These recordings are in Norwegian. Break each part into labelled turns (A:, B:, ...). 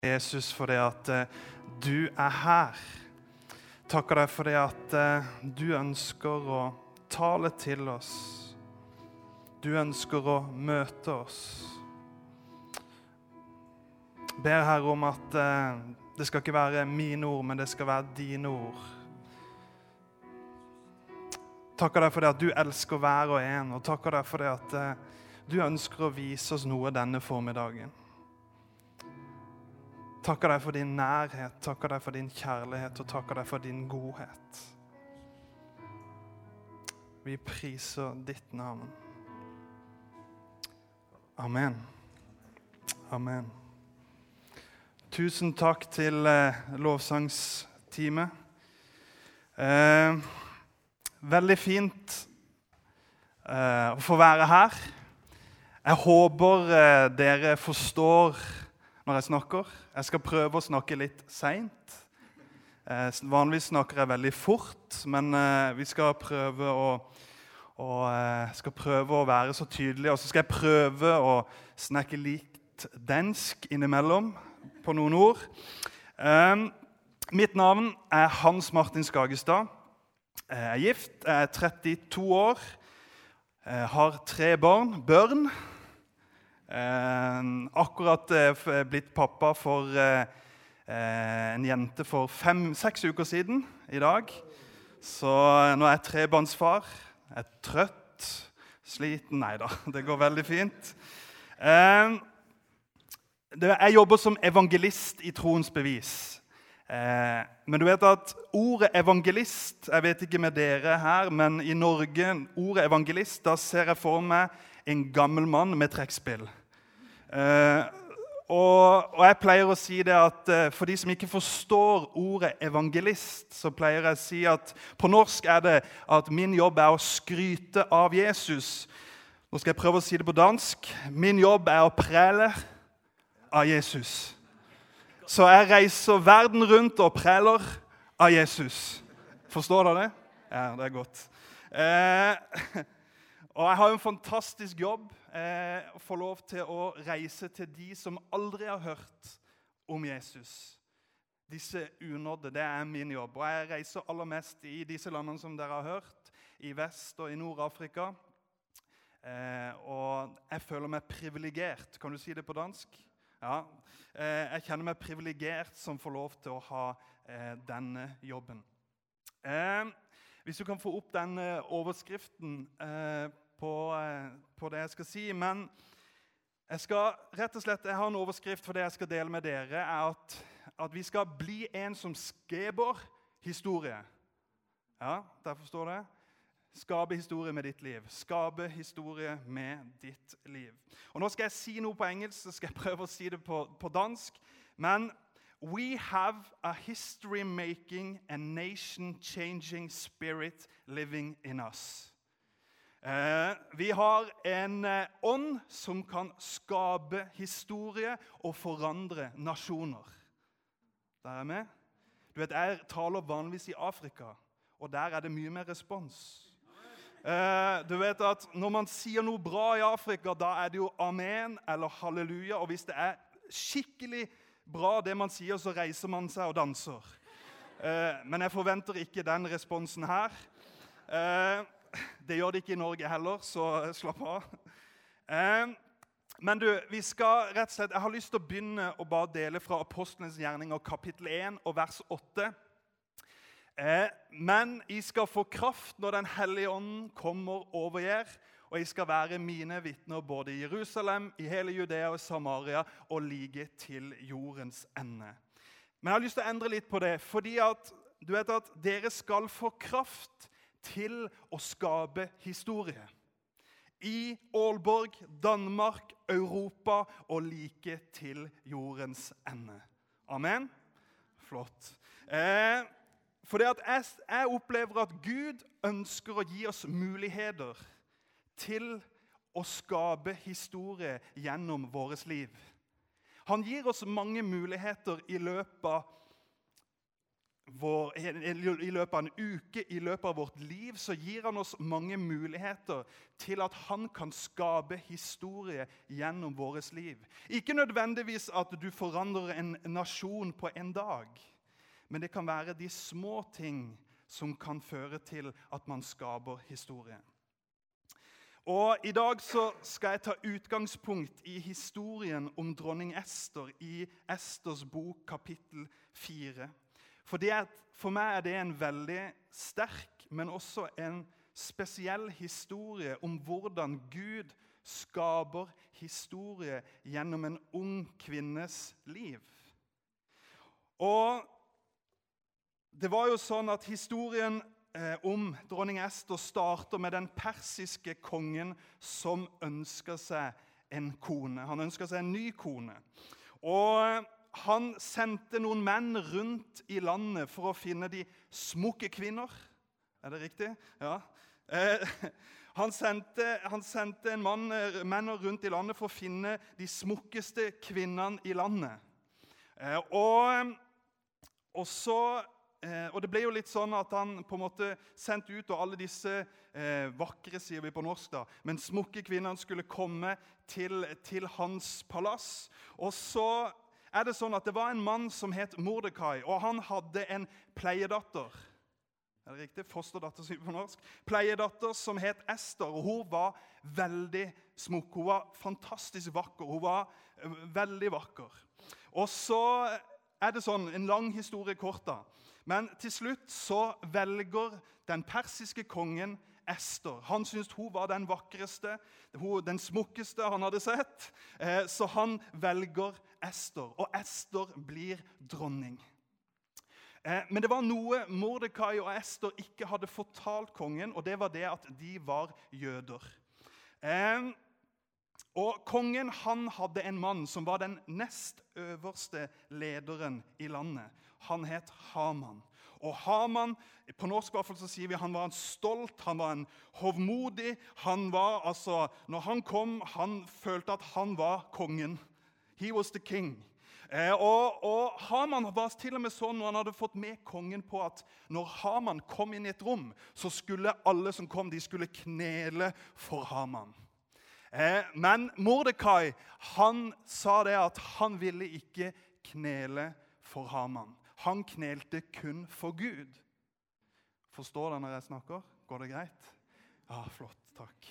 A: Jesus, for det at du her. Takker deg for det at du ønsker å tale til oss. Du ønsker å møte oss. Ber Herre om at det skal ikke være mine ord, men det skal være dine ord. Takker deg for det at du elsker hver og en, og takker deg for det at du ønsker å vise oss noe denne formiddagen. Takker deg for din nærhet, takker deg for din kjærlighet, og takker deg for din godhet. Vi priser ditt navn. Amen. Amen. Tusen takk til lovsangsteamet. Veldig fint å få være her. Jeg håper dere forstår når jeg snakker. Jeg skal prøve å snakke litt sent. Vanligvis snakker jeg veldig fort, men vi skal prøve å være så tydelige, og så skal jeg prøve å snakke litt dansk innimellom på noen ord. Mitt navn er Hans Martin Skagestad. Jeg er gift, jeg er 32 år, har 3 børn. Akkurat blitt pappa for en jente for 5-6 uker siden i dag. Så nå er jeg 3-barnsfar. Jeg er trøtt, sliten. Neida, det går veldig fint. Jeg jobber som evangelist i Troens Bevis. Men du vet at ordet evangelist, jeg vet ikke med dere her, men i Norge, ordet evangelist, da ser jeg for meg en gammel mann med trekkspill. Og jeg pleier å si det at for de som ikke forstår ordet evangelist, så pleier jeg å si at på norsk er det at min jobb er å skryte av Jesus. Nå skal jeg prøve å si det på dansk. Min jobb er å prele av Jesus. Så jeg reiser verden rundt og preler av Jesus. Forstår dere det? Ja, det er godt. Og jeg har en fantastisk jobb å få lov til å reise til de som aldri har hørt om Jesus. Disse unådde, det er min jobb. Og jeg reiser aller mest i disse landene som dere har hørt, i Vest- og i Nord-Afrika. Og jeg føler meg privilegert. Kan du si det på dansk? Ja. Jeg kjenner meg privilegert som får lov til å ha denne jobben. Hvis du kan få opp den overskriften på det jeg skal si, men jeg har en overskrift for det jeg skal dele med dere, er at vi skal bli en som skaper historie. Ja, der forstår det. Skape historie med ditt liv. Skape historie med ditt liv. Og nå skal jeg si noe på engelsk, så skal jeg prøve å si det på dansk, men we have a history-making and nation-changing spirit living in us. Vi har en ånd som kan skape historie og forandre nasjoner. Der er med. Du vet, jeg taler vanligvis i Afrika, og der er det mye mer respons. Du vet at når man sier noe bra i Afrika, da er det jo amen eller halleluja, og hvis det er skikkelig bra det man sier, så reiser man seg og danser. Men jeg forventer ikke den responsen her. Det gjør det ikke i Norge heller, så slapp av. Men du, vi skal rett og slett, jeg har lyst til å begynne å bare dele fra Apostlenes gjerninger, kapittel 1 og vers 8. Men I skal få kraft når den hellige ånden kommer over jer, og I skal være mine vitner både i Jerusalem, i hele Judea og Samaria, og like til jordens ende. Men jeg har lyst til å endre litt på det, fordi at du vet at dere skal få kraft til å skape historie. I Aalborg, Danmark, Europa og like til jordens ende. Amen? Flott. For det at jeg opplever at Gud ønsker å gi oss muligheter til å skape historie gjennom våres liv. Han gir oss mange muligheter i løpet i løpet av en uke, i løpet av vårt liv, så gir han oss mange muligheter til at han kan skape historie gjennom våres liv. Ikke nødvendigvis at du forandrer en nasjon på en dag, men det kan være de små ting som kan føre til at man skaper historie. Og i dag så skal jeg ta utgangspunkt i historien om dronning Ester i Esters bok kapittel 4. For meg er det en veldig sterk, men også en spesiell historie om hvordan Gud skaper historie gjennom en ung kvinnes liv. Og det var jo sånn at historien om dronning Ester starter med den persiske kongen som ønsker seg en kone. Han ønsker seg en ny kone. Og han sendte noen menn rundt i landet for å finne de smukke kvinner. Er det riktig? Ja. Han sendte menn rundt i landet for å finne de smukkeste kvinnene i landet. Og det ble jo litt sånn at han på en måte sendte ut, og alle disse vakre, sier vi på norsk da, men smukke kvinnerne skulle komme til hans palass. Og så er det sånn at det var en mann som het Mordekai, og han hadde en pleiedatter. Er det riktig? Fosterdatter, sier vi på norsk. Pleiedatter som het Ester, og hun var veldig smukk. Hun var fantastisk vakker. Hun var veldig vakker. Og så er det sånn, en lang historie kort da. Men til slutt så velger den persiske kongen Ester. Han syntes hun var den vakreste, den smukkeste han hadde sett. Så han velger Ester, og Ester blir dronning. Men det var noe Mordekai og Ester ikke hadde fortalt kongen, og det var det at de var jøder. Og kongen han hadde en mann som var den nest øverste lederen i landet. Han het Haman. Og Haman, på norsk i hvert fall så sier vi, han var en stolt, han var en hovmodig, han var altså, når han kom, han følte at han var kongen. He was the king. Og Haman var til og med sånn, når han hadde fått med kongen på at når Haman kom inn i et rom, så skulle alle som kom, de skulle knele for Haman. Men Mordekai, han sa det at han ville ikke knele for Haman. Han knelte kun for Gud. Forstår dere når jeg snakker? Går det greit? Ja, flott, takk.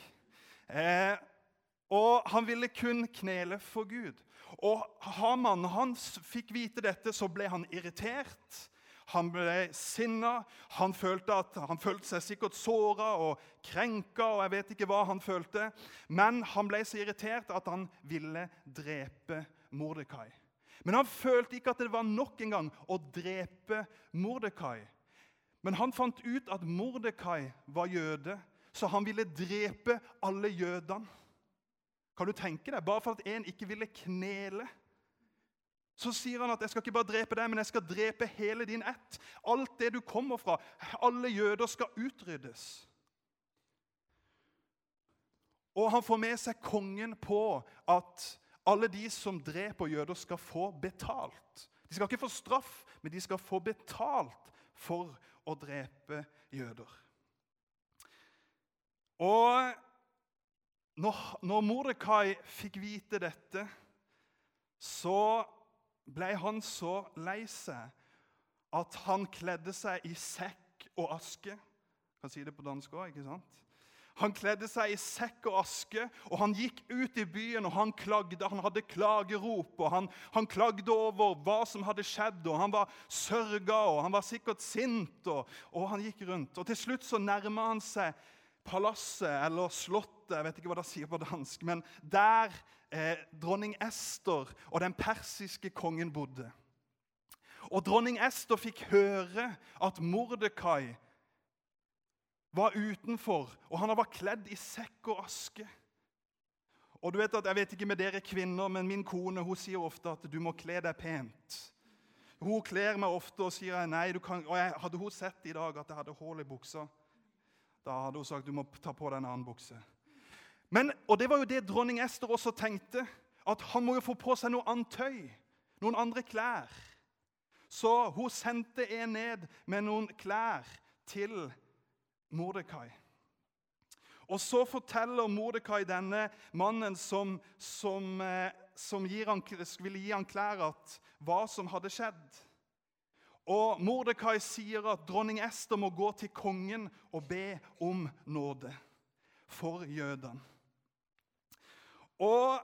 A: Og han ville kun knele for Gud. Og Haman, når han fikk vite dette, så ble han irritert. Han ble sinna. Han følte seg sikkert såret og krenket, og jeg vet ikke hva han følte. Men han ble så irritert at han ville drepe Mordekai. Men han følte ikke at det var nok en gang å drepe Mordekai. Men han fant ut at Mordekai var jøde, så han ville drepe alle jødene. Kan du tenke deg? Bare for at en ikke ville knele. Så sier han at jeg skal ikke bare drepe deg, men jeg skal drepe hele din ett. Alt det du kommer fra, alle jøder skal utryddes. Og han får med seg kongen på at alle de som dreper jøder skal få betalt. De skal ikke få straff, men de skal få betalt for å drepe jøder. Og når Mordekai fikk vite dette, så ble han så lei seg at han kledde seg i sekk og aske. Jeg kan si det på dansk også, ikke sant? Han kledde seg i sekk og aske, og han gikk ut i byen, og han klagde. Han hadde klagerop, og han klagde over hva som hadde skjedd, og han var sørget, og han var sikkert sint, og han gikk rundt. Og til slutt så nærmet han seg palasset, eller slottet, jeg vet ikke hva det sier på dansk, men der dronning Ester og den persiske kongen bodde. Og dronning Ester fikk høre at Mordekai var utenfor, og han var kledd i sekk og aske. Og du vet at, jeg vet ikke med dere kvinner, men min kone, hun sier ofte at du må kle deg pent. Hun kler meg ofte og sier nei, du kan, og hadde hun sett i dag at jeg hadde hull i buksa, da hadde hun sagt du må ta på deg en annen bukse. Og det var jo det dronning Ester også tenkte, at han må jo få på seg noe annet tøy, noen andre klær. Så hun sendte en ned med noen klær til Mordekai. Og så forteller Mordekai denne mannen som ville gi han klær, hva som hadde skjedd. Og Mordekai sier at dronning Ester må gå til kongen og be om nåde for jødene. Og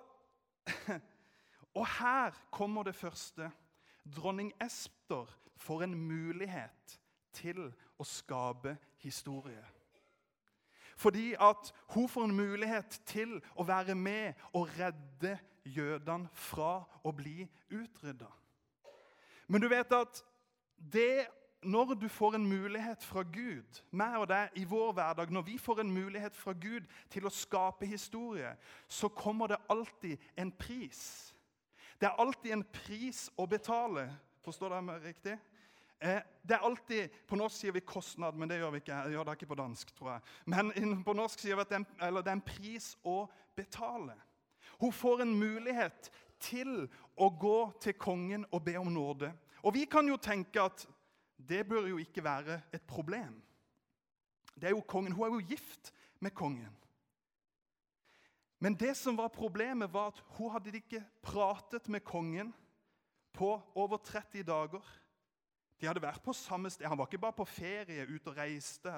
A: her kommer det første. Dronning Ester får en mulighet til å skape historie. Fordi at hun får en mulighet til å være med og redde jødene fra å bli utryddet. Men du vet at når du får en mulighet fra Gud, meg og deg i vår hverdag, når vi får en mulighet fra Gud til å skape historie, så kommer det alltid en pris. Det er alltid en pris å betale. Forstår dere meg riktig? Det er alltid, på norsk sier vi kostnad, men det gjør vi ikke. Jeg gjør det ikke på dansk, tror jeg. Men på norsk sier vi at det er en pris å betale. Hun får en mulighet til å gå til kongen og be om nåde. Og vi kan jo tenke at det bør jo ikke være et problem. Det er jo kongen. Hun er jo gift med kongen. Men det som var problemet var at hun hadde ikke pratet med kongen på over 30 dager. De hadde vært på samme sted. Han var ikke bare på ferie, ut og reiste.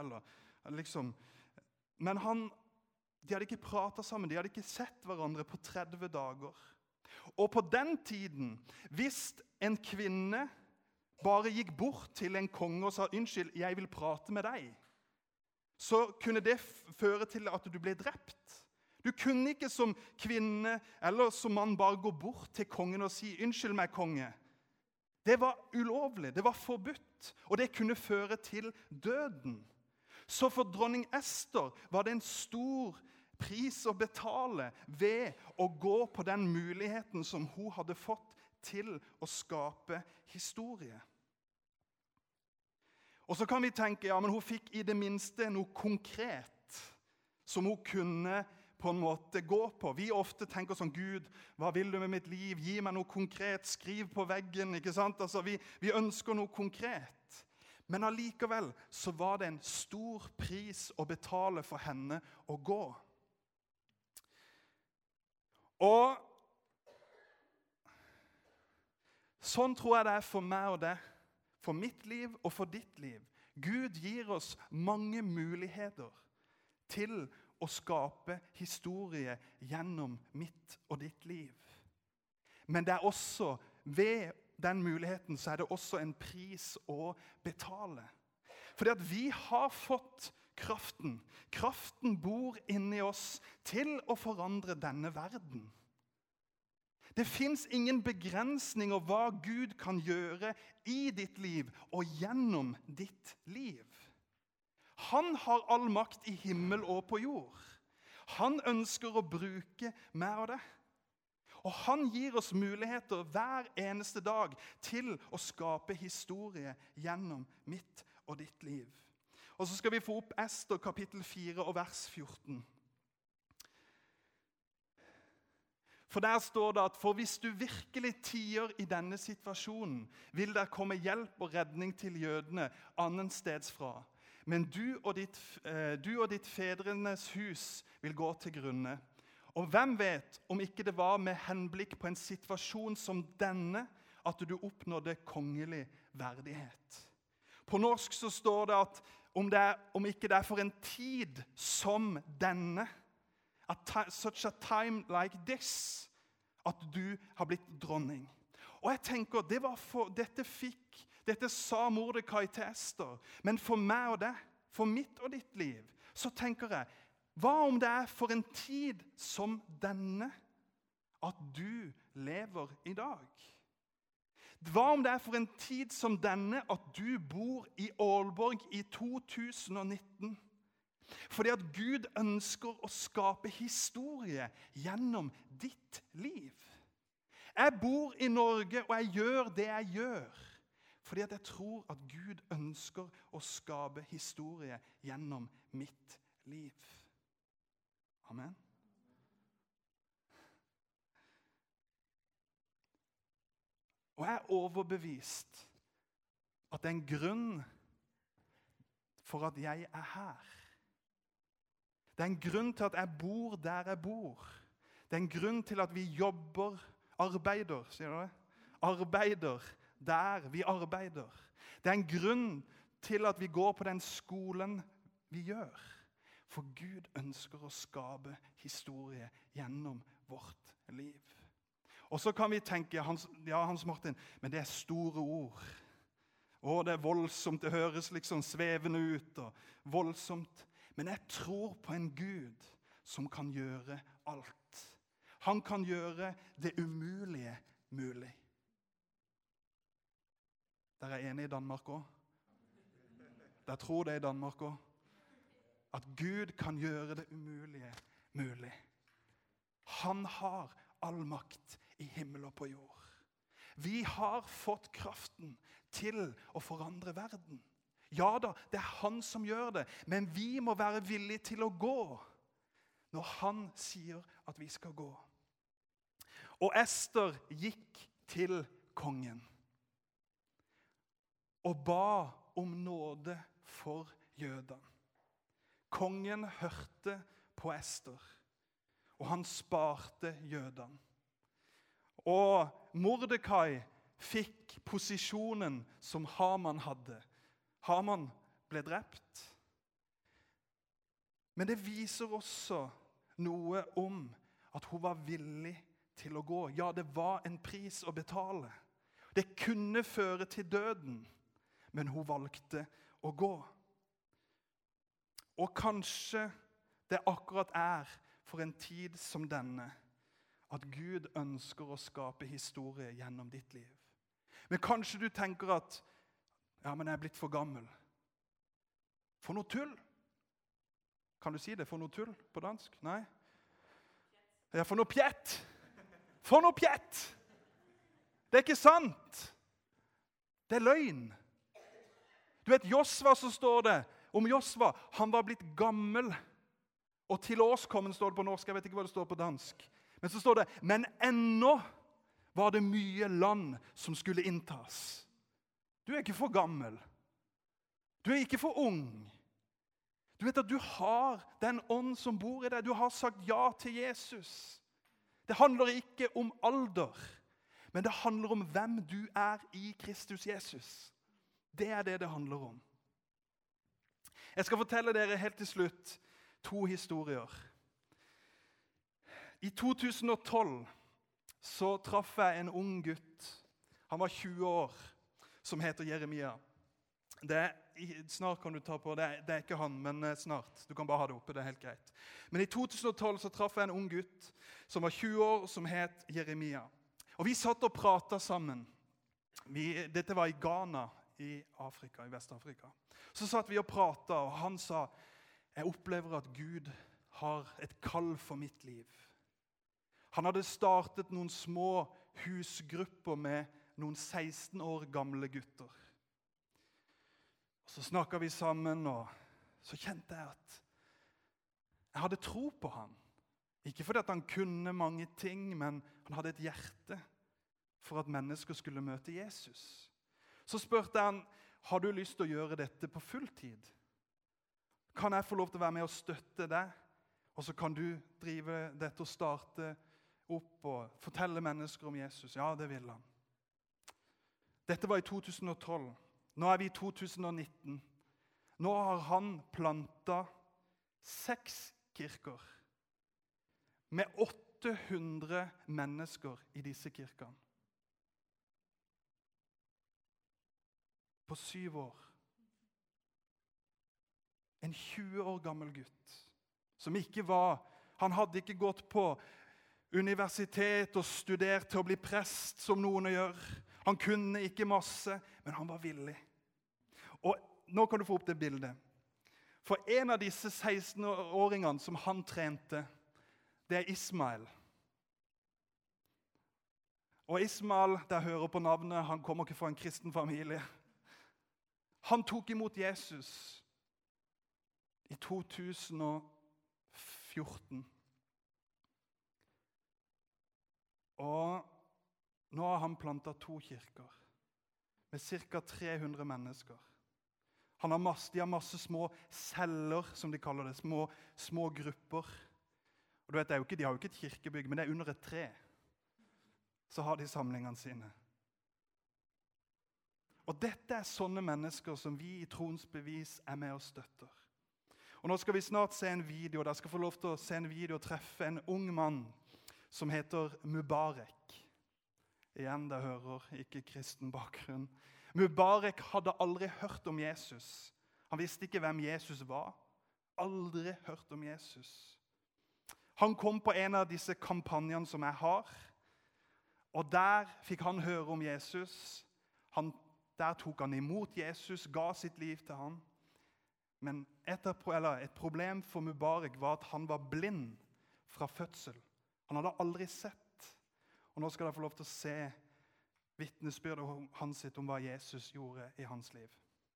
A: Men de hadde ikke pratet sammen. De hadde ikke sett hverandre på 30 dager. Og på den tiden, hvis en kvinne bare gikk bort til en konge og sa, «Unnskyld, jeg vil prate med deg», så kunne det føre til at du ble drept. Du kunne ikke som kvinne eller som mann bare gå bort til kongen og si, «Unnskyld meg, konge». Det var ulovlig, det var forbudt, og det kunne føre til døden. Så for dronning Ester var det en stor pris å betale ved å gå på den muligheten som hun hadde fått til å skape historie. Og så kan vi tenke, ja, men hun fikk i det minste noe konkret som hun kunne på en måte gå på. Vi ofte tenker sånn, Gud, hva vil du med mitt liv? Gi meg noe konkret, skriv på veggen, ikke sant? Altså, vi ønsker noe konkret. Men allikevel så var det en stor pris å betale for henne å gå. Og sånn tror jeg det er for meg og deg, for mitt liv og for ditt liv. Gud gir oss mange muligheter til å skape historie gjennom mitt og ditt liv. Men det er også, ved den muligheten, så er det også en pris å betale. Fordi at vi har fått kraften. Kraften bor inni oss til å forandre denne verden. Det finnes ingen begrensninger hva Gud kan gjøre i ditt liv og gjennom ditt liv. Han har all makt i himmel og på jord. Han ønsker å bruke meg og det. Og han gir oss muligheter hver eneste dag til å skape historie gjennom mitt og ditt liv. Og så skal vi få opp Ester kapittel 4 og vers 14. For der står det at for hvis du virkelig tier i denne situasjonen, vil der komme hjelp og redning til jødene annen steds fra. Men du og ditt fedrenes hus vil gå til grunne. Og hvem vet om ikke det var med henblikk på en situasjon som denne at du oppnådde kongelig verdighet. På norsk så står det at om ikke det er for en tid som denne, such a time like this, at du har blitt dronning. Og jeg tenker, dette sa Mordekai til Ester, men for meg og deg, for mitt og ditt liv, så tenker jeg, hva om det er for en tid som denne at du lever i dag? Hva om det er for en tid som denne at du bor i Aalborg i 2019? Fordi at Gud ønsker å skape historie gjennom ditt liv. Jeg bor i Norge, og jeg gjør det jeg gjør. Fordi at jeg tror at Gud ønsker å skape historie gjennom mitt liv. Amen. Og jeg er overbevist at det er en grunn for at jeg er her. Det er en grunn til at jeg bor der jeg bor. Det er en grunn til at vi arbeider, sier du det? Arbeider der vi arbeider. Det er en grunn til at vi går på den skolen vi gjør. For Gud ønsker å skape historie gjennom vårt liv. Og så kan vi tenke, Hans Martin, men det er store ord. Og det er voldsomt, det høres liksom svevende ut og voldsomt. Men jeg tror på en Gud som kan gjøre alt. Han kan gjøre det umulige mulig. Der er enig i Danmark også. Der tror det i Danmark også. At Gud kan gjøre det umulige mulig. Han har all makt i himmel og på jord. Vi har fått kraften til å forandre verden. Ja da, det er han som gjør det, men vi må være villige til å gå når han sier at vi skal gå. Og Ester gikk til kongen og ba om nåde for jødene. Kongen hørte på Ester, og han sparte jødene. Og Mordekai fikk posisjonen som Haman hadde. Haman ble drept. Men det viser også noe om at hun var villig til å gå. Ja, det var en pris å betale. Det kunne føre til døden, men hun valgte å gå. Og kanskje det akkurat er for en tid som denne at Gud ønsker å skape historie gjennom ditt liv. Men kanskje du tenker at ja, men jeg er blitt for gammel. For noe tull. Kan du si det? For noe tull på dansk? Nei? Ja, for noe pjett. For noe pjett. Det er ikke sant. Det er løgn. Du vet, Josva, så står det om Josva, han var blitt gammel. Og til årskommen står det på norsk, jeg vet ikke hva det står på dansk. Men så står det, men ennå var det mye land som skulle inntas. Du er ikke for gammel. Du er ikke for ung. Du vet at du har den ånd som bor i deg. Du har sagt ja til Jesus. Det handler ikke om alder, men det handler om hvem du er i Kristus Jesus. Det er det det handler om. Jeg skal fortelle dere helt til slutt 2 historier. I 2012 så traff jeg en ung gutt. Han var 20 år, som heter Jeremia. Snart kan du ta på, det er ikke han, men snart. Du kan bare ha det oppe, det er helt greit. Men i 2012 så traff jeg en ung gutt som var 20 år, som het Jeremia. Og vi satt og pratet sammen. Dette var i Ghana, i Afrika, i Vest-Afrika. Så satt vi og pratet, og han sa, jeg opplever at Gud har et kall for mitt liv. Han hadde startet noen små husgrupper med noen 16 år gamle gutter. Og så snakket vi sammen, og så kjente jeg at jeg hadde tro på han. Ikke fordi at han kunne mange ting, men han hadde et hjerte for at mennesker skulle møte Jesus. Så spurte han, har du lyst til å gjøre dette på fulltid? Kan jeg få lov til å være med og støtte deg? Og så kan du drive dette og starte opp og fortelle mennesker om Jesus. Ja, det vil han. Dette var i 2012. Nå er vi i 2019. Nå har han plantet 6 kirker med 800 mennesker i disse kirkene. På 7 år. En 20 år gammel gutt som han hadde ikke gått på universitet og studert til å bli prest som noen gjør. Han kunne ikke masse, men han var villig. Og nå kan du få opp det bildet. For en av disse 16-åringene som han trente, det er Ismael. Og Ismael, der hører på navnet, han kommer ikke fra en kristen familie. Han tok imot Jesus i 2014. Og nå har han plantet 2 kirker med ca. 300 mennesker. De har masse små celler, som de kaller det, små grupper. Og du vet, de har jo ikke et kirkebygg, men det under et tre. Så har de samlingene sine. Og dette sånne mennesker som vi i Troens Bevis med og støtter. Og nå skal vi snart se en video, der skal få lov til å se en video og treffe en ung mann som heter Mubarak. Igjen, det hører ikke kristen bakgrunn. Mubarak hadde aldri hørt om Jesus. Han visste ikke hvem Jesus var. Aldri hørt om Jesus. Han kom på en av disse kampanjene som jeg har, og der fikk han høre om Jesus. Der tok han imot Jesus, ga sitt liv til han. Men et problem for Mubarak var at han var blind fra fødsel. Han hadde aldri sett. Og nå skal dere få lov til å se vitnesbyrdet hans om hva Jesus gjorde i hans liv.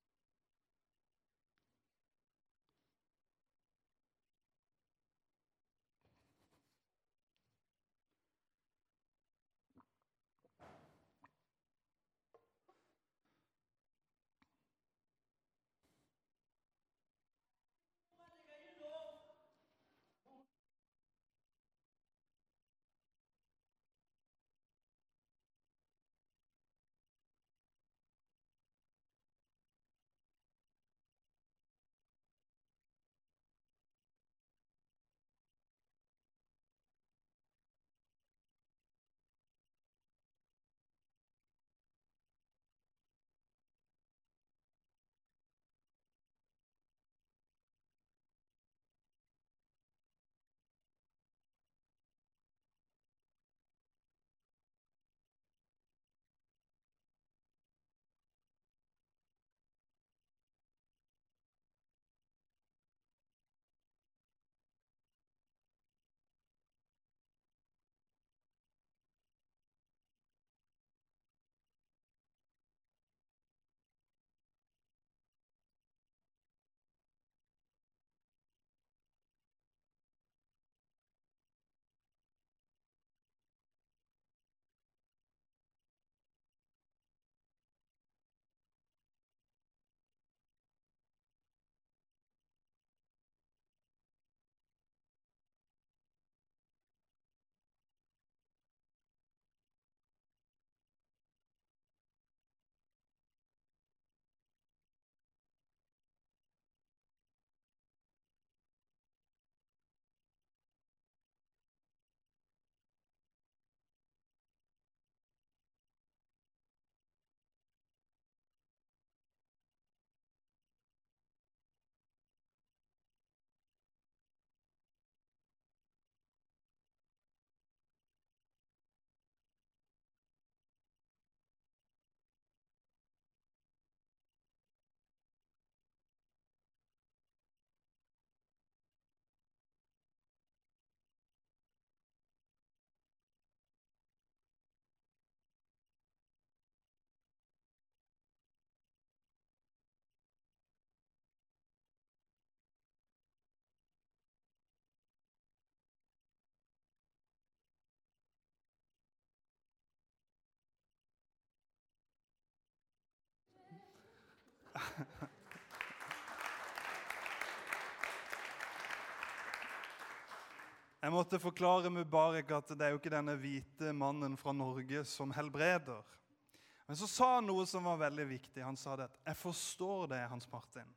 A: Jeg måtte forklare Mubarak at det jo ikke denne hvite mannen fra Norge som helbreder. Men så sa han noe som var veldig viktig. Han sa det at jeg forstår det, Hans Martin.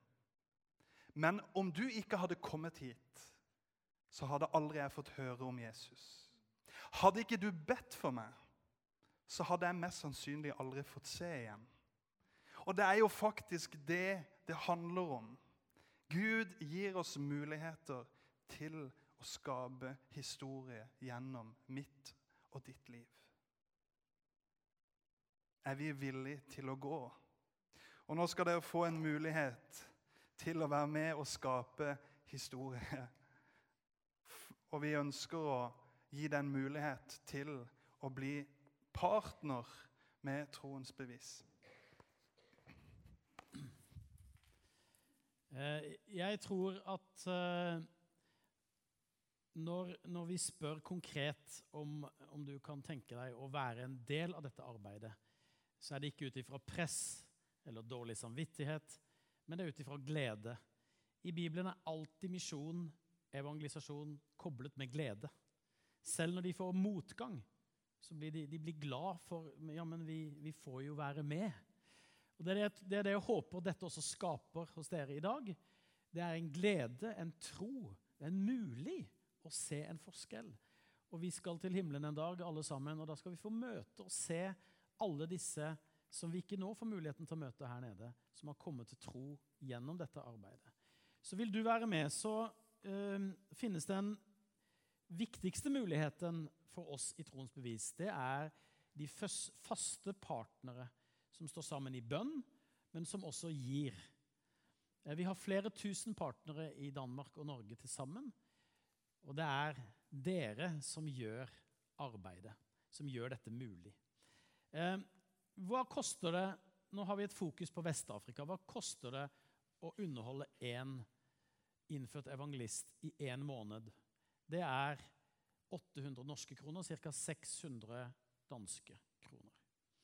A: Men om du ikke hadde kommet hit, så hadde aldri jeg fått høre om Jesus. Hadde ikke du bedt for meg, så hadde jeg mest sannsynlig aldri fått se igjen. Og det jo faktisk det handler om. Gud gir oss muligheter til å skape historie gjennom mitt og ditt liv. Vi villige til å gå? Og nå skal dere få en mulighet til å være med og skape historie. Og vi ønsker å gi den mulighet til å bli partner med Troens Bevis.
B: Jeg tror at når vi spør konkret om du kan tenke deg å være en del av dette arbeidet, så det ikke ut ifra press eller dårlig samvittighet, men det ut ifra glede. I Bibelen alltid misjon, evangelisasjon koblet med glede. Selv når de får motgang, så blir de blir glad for, ja, men vi får jo være med. Og det er det jeg håper dette også skaper hos dere i dag. Det en glede, en tro, det en mulig å se en forskjell. Og vi skal til himmelen en dag, alle sammen, og da skal vi få møte og se alle disse som vi ikke nå får muligheten til å møte her nede, som har kommet til tro gjennom dette arbeidet. Så vil du være med, så finnes den viktigste muligheten for oss i troens bevis. Det de faste partnere som står sammen i bønn, men som også gir. Vi har flere tusen partnere i Danmark og Norge til sammen, og det dere som gjør arbeidet, som gjør dette mulig. Hva koster det, nå har vi et fokus på Vest-Afrika, hva koster det å underholde en innført evangelist i en måned? Det 800 norske kroner, ca. 600 danske kroner.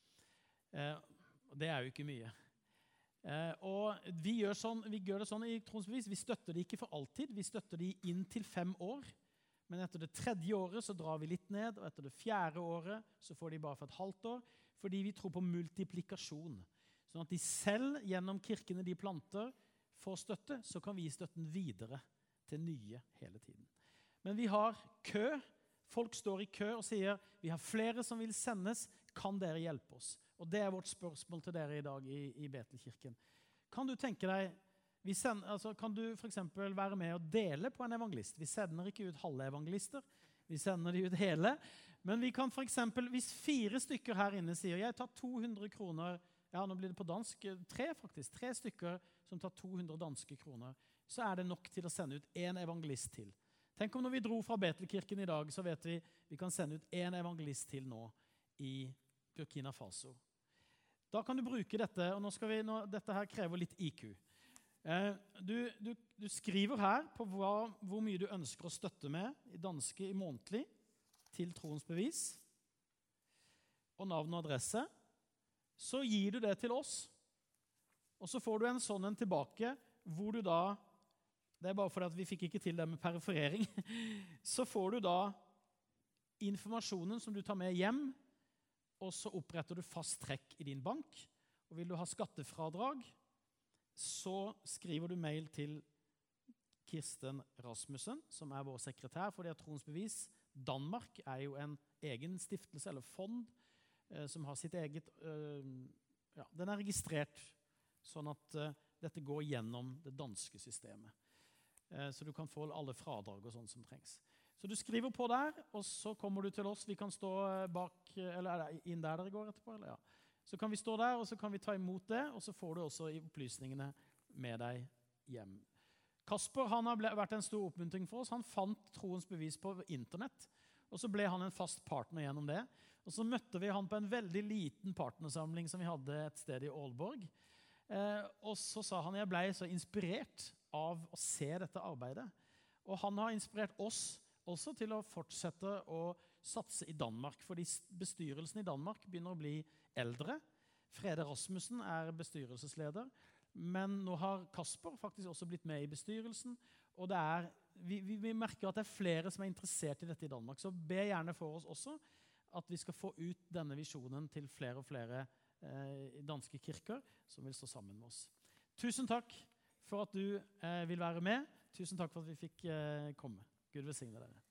B: Det jo ikke mye. Og vi gjør det sånn i troens bevis, vi støtter det ikke for alltid, vi støtter det inn til 5 år, men etter det 3. året så drar vi litt ned, og etter det 4. året så får de bare for et halvt år, fordi vi tror på multiplikasjon. Sånn at de selv gjennom kirkene de planter får støtte, så kan vi gi støtten videre til nye hele tiden. Men vi har kø, folk står i kø og sier, vi har flere som vil sendes, kan dere hjelpe oss? Og det vårt spørsmål til dere i dag i Betelkirken. Kan du tenke deg, kan du for eksempel være med og dele på en evangelist? Vi sender ikke ut halve evangelister, vi sender de ut hele. Men vi kan for eksempel, hvis 4 stykker her inne sier, jeg tar 200 kroner, ja nå blir det på dansk, 3 faktisk, 3 stykker som tar 200 danske kroner, så det nok til å sende ut en evangelist til. Tenk om når vi dro fra Betelkirken i dag, så vet vi kan sende ut en evangelist til nå i Burkina Faso. Da kan du bruke dette, og dette her krever litt IQ. Du skriver her på hvor mye du ønsker å støtte med i danske i månedlig til troens bevis, og navn og adresse. Så gir du det til oss, og så får du en sånn en tilbake, hvor du da, det bare fordi at vi fikk ikke til det med periferering, så får du da informasjonen som du tar med hjem, og så oppretter du fast trekk i din bank, og vil du ha skattefradrag, så skriver du mail til Kirsten Rasmussen, som vår sekretær, fordi at Troens Bevis Danmark jo en egen stiftelse eller fond, som har sitt eget, ja, den registrert, sånn at dette går gjennom det danske systemet. Så du kan få alle fradrag og sånt som trengs. Så du skriver på der, og så kommer du til oss. Vi kan stå bak, eller det inn der dere går etterpå? Eller ja. Så kan vi stå der, og så kan vi ta imot det, og så får du også opplysningene med deg hjem. Kasper, han har vært en stor oppmuntring for oss. Han fant Troens Bevis på internett, og så ble han en fast partner gjennom det. Og så møtte vi han på en veldig liten partnersamling som vi hadde et sted i Aalborg. Og så sa han, jeg ble så inspirert av å se dette arbeidet. Og han har inspirert oss også til å fortsette å satse i Danmark, fordi bestyrelsen i Danmark begynner å bli eldre. Frede Rasmussen bestyrelsesleder, men nå har Kasper faktisk også blitt med i bestyrelsen, og vi merker at det flere som interessert i dette i Danmark, så be gjerne for oss også at vi skal få ut denne visjonen til flere og flere danske kirker som vil stå sammen med oss. Tusen takk for at du vil være med. Tusen takk for at vi fikk komme. Gud velsigne dere.